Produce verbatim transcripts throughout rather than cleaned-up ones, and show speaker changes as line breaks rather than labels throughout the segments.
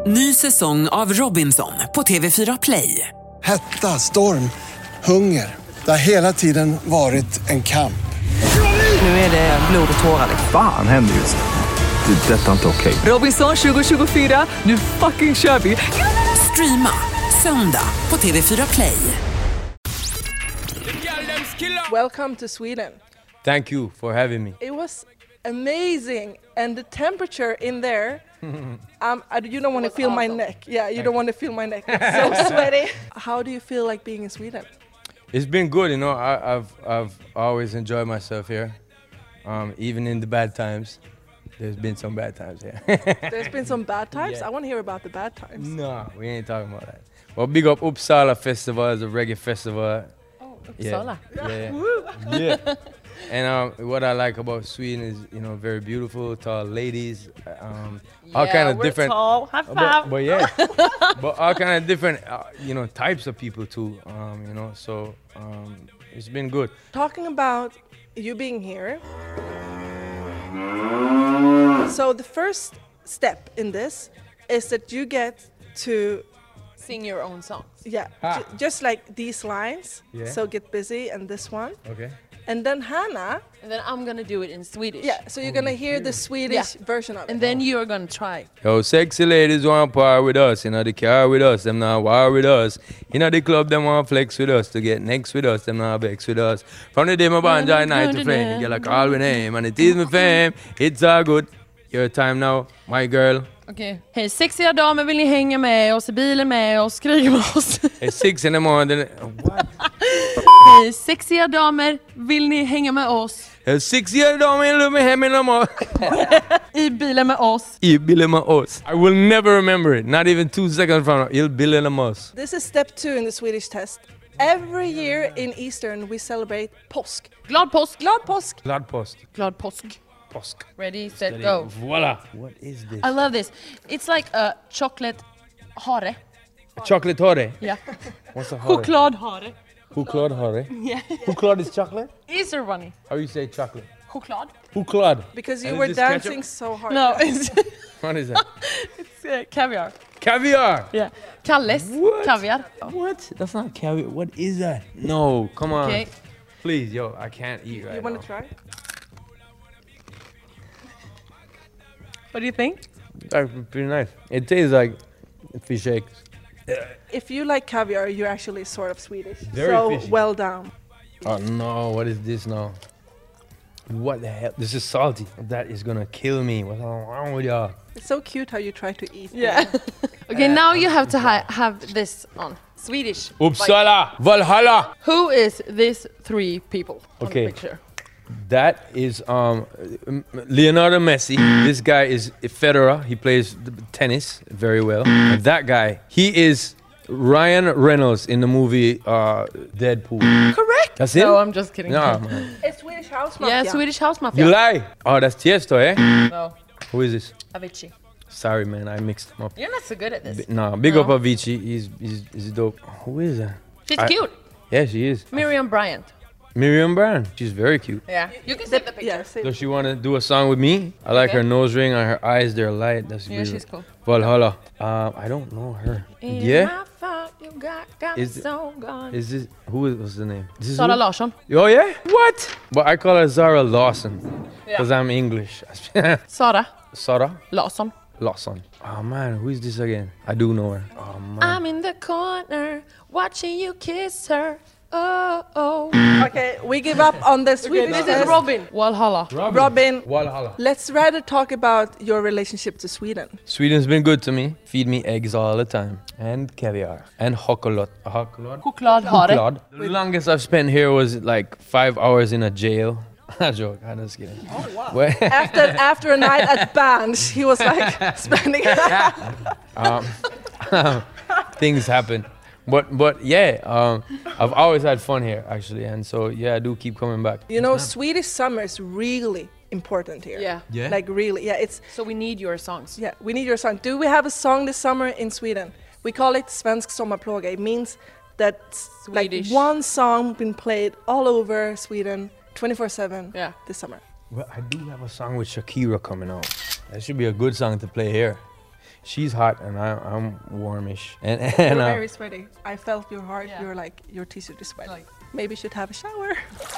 Ny säsong av Robinson på T V fyra Play.
Hetta, storm, hunger. Det har hela tiden varit en kamp.
Nu är det blod och tårar.
Fan händer just det. Det är detta inte okej.
Robinson tjugo tjugofyra, nu fucking kör vi. Streama söndag på T V fyra Play.
Welcome to Sweden.
Thank you for having me.
It was amazing, and the temperature in there. um, I, you don't want to feel my neck. Yeah, you don't want to feel my neck. It's so sweaty. How do you feel like being in Sweden?
It's been good, you know. I, I've I've always enjoyed myself here, um, even in the bad times. There's been some bad times here.
There's been some bad times.
Yeah.
I want to hear about the bad times.
No, we ain't talking about that. Well, big up Uppsala Festival is a reggae festival.
Oh,
Uppsala. Yeah, yeah. yeah. And um, what I like about Sweden is, you know, very beautiful, tall ladies, um, all
yeah,
kind of
we're
different.
Tall. High
But,
five.
but yeah, but all kind of different, uh, you know, types of people too. Um, you know, so um, it's been good.
Talking about you being here. So the first step in this is that you get to
Sing your own songs.
yeah,
Ah.
ju- just like these lines.
Yeah.
So Get Busy and this one,
Okay.
and then Hannah.
And then I'm gonna do it in Swedish.
Yeah, so you're gonna hear the Swedish version of it.
And then you're gonna try.
Yo, sexy ladies want par with us, you know, the car with us, them not war with us. You know, the club, them want flex with us, to get next with us, them not vex with us. From the day my band join night to flame, you get like call with name, and it is my fame, it's all good. Your time now, my girl.
Okej. Okay. Hej sexiga damer, vill ni hänga med oss i bilen med oss, skrika med oss?
It's six in the morning. What?
Hej sexiga damer, vill ni hänga med oss?
It's six years old, man, look me him in the more.
I bilen med oss.
You bill my us. I will never remember it, not even two seconds from now. You'll bill in us.
This is step two in the Swedish test. Every year in Eastern we celebrate påsk.
Glad påsk.
Glad påsk.
Glad post.
Glad påsk.
Posk.
Ready, set, go.
Voila. What is this?
I love this. It's like a chocolate hare.
Chocolate hare.
Yeah.
What's a hare?
Choklad hare.
Choklad hare.
Yeah.
Choklad is chocolate?
Easter bunny.
How you say chocolate?
Choklad.
Choklad.
Because you
And
were
is this ketchup?
dancing so hard.
No, it's,
What is that?
it's uh, caviar.
Caviar.
Yeah. Kalles
What?
kaviar.
What? That's not caviar. What is that? No, come on.
Okay.
Please, yo, I can't eat right
You want
now.
to try?
What do you think?
That's pretty nice. It tastes like fish eggs.
If you like caviar, you're actually sort of Swedish.
Very
so
fishy.
well done.
Oh no, what is this now? What the hell? This is salty. That is gonna kill me. What's wrong with y'all?
It's so cute how you try to eat.
Yeah. Okay, now you have to ha- have this on Swedish.
Uppsala, Valhalla.
Who is these three people on
Okay.
the picture?
That is um, Leonardo Messi. This guy is Federer. He plays the tennis very well. And that guy, he is Ryan Reynolds in the movie uh, Deadpool.
Correct.
That's it?
No, I'm just kidding.
No, man.
It's Swedish house mafia.
Yeah, Swedish House Mafia.
You lie. Oh, that's Tiesto, eh?
No,
Who is this?
Avicii.
Sorry, man. I mixed him up.
You're not so good at this.
B- no, big
No.
up Avicii. He's, he's, he's dope. Who is that?
She's
I-
cute.
Yeah, she is.
Miriam Bryant.
Miriam Brown. She's very cute.
Yeah. You can see the picture.
Yeah, say
Does she want to do a song with me? I like
Okay.
her nose ring and her eyes. They're light. That's
Yeah,
beautiful.
she's cool.
Valhalla. Um, I don't know her.
In
Yeah.
my fault, you got, got
Is
me
it-
so gone.
Is this who is what's the name? This is
Sara
who?
Larsson.
Oh yeah? What? But I call her Zara Lawson because I'm English.
Sara
Zara
Larsson.
Lawson. Oh man, who is this again? I do know her. Oh man.
I'm in the corner watching you kiss her. Oh, oh.
Okay, we give up on the Swedish
This
test.
is Robin. Valhalla.
Robin,
Valhalla.
let's rather talk about your relationship to Sweden.
Sweden's been good to me. Feed me eggs all the time and caviar and chocolate. Chocolate.
Chokladhare.
Chocolate. The longest I've spent here was like five hours in a jail. I joke. I'm just kidding. Oh wow.
After after a night at Bands, he was like spending.
um, things happen. But but yeah, um, I've always had fun here actually, and so yeah, I do keep coming back.
You know, Swedish summer is really important here.
Yeah.
Yeah.
Like really, yeah. It's
So we need your songs.
yeah. We need your song. Do we have a song this summer in Sweden? We call it Svensk sommarplåga. It means that like
Swedish.
one song been played all over Sweden, twenty-four seven.
Yeah.
This summer.
Well, I do have a song with Shakira coming out. That should be a good song to play here. she's hot and I, I'm warmish. And, and
You're
uh,
very sweaty. I felt your heart.
Yeah.
You're like, your t-shirt is sweaty. Maybe you should have a shower.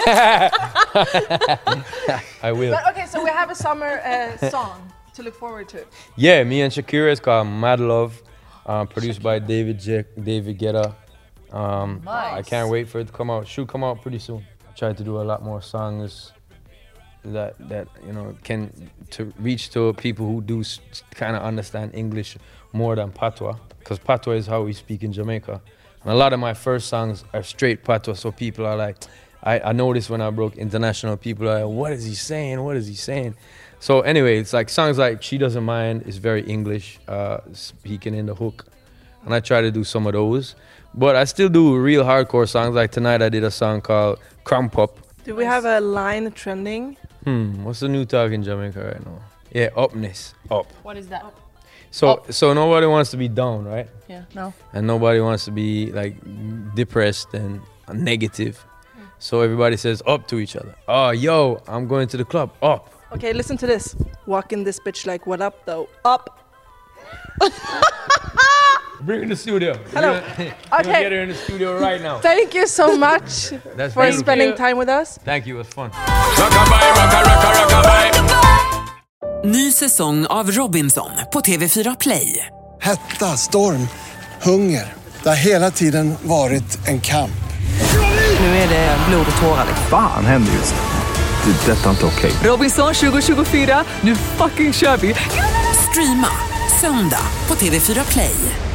I will.
But okay, so we have a summer uh, song to look forward to.
Yeah, me and Shakira is called Mad Love, uh, produced by David J- David Guetta. Um,
Nice.
I can't wait for it to come out. Should come out pretty soon. I tried to do a lot more songs that that you know can to reach to people who do s- kind of understand English more than patois, because patois is how we speak in Jamaica. And a lot of my first songs are straight patois, so people are like, I, I noticed when I broke international, people are like, what is he saying? What is he saying? So anyway, it's like songs like She Doesn't Mind is very English, uh, speaking in the hook. And I try to do some of those. But I still do real hardcore songs. Like tonight I did a song called Crump Up.
Do we have a line trending?
Hmm, what's the new talk in Jamaica right now? Yeah, upness, up.
What is that?
So
Up.
so nobody wants to be down, right?
Yeah.
No.
And nobody wants to be like depressed and negative. So everybody says up to each other. Oh, yo, I'm going to the club, up.
Okay, listen to this. Walking this bitch like, what up though? Up.
Bring her in the studio.
Hello.
We're gonna, we're gonna
Okay.
get her in the studio right now.
Thank you so much
That's
for
beautiful.
spending time with us.
Thank you, it was fun.
Ny säsong av Robinson på T V fyra Play.
Hetta, storm, hunger. Det har hela tiden varit en kamp.
Nu är det blod och tårar.
Fan händer just det. Det är detta inte okej.
Robinson tjugo tjugofyra, nu fucking kör vi! Streama söndag på T V fyra Play.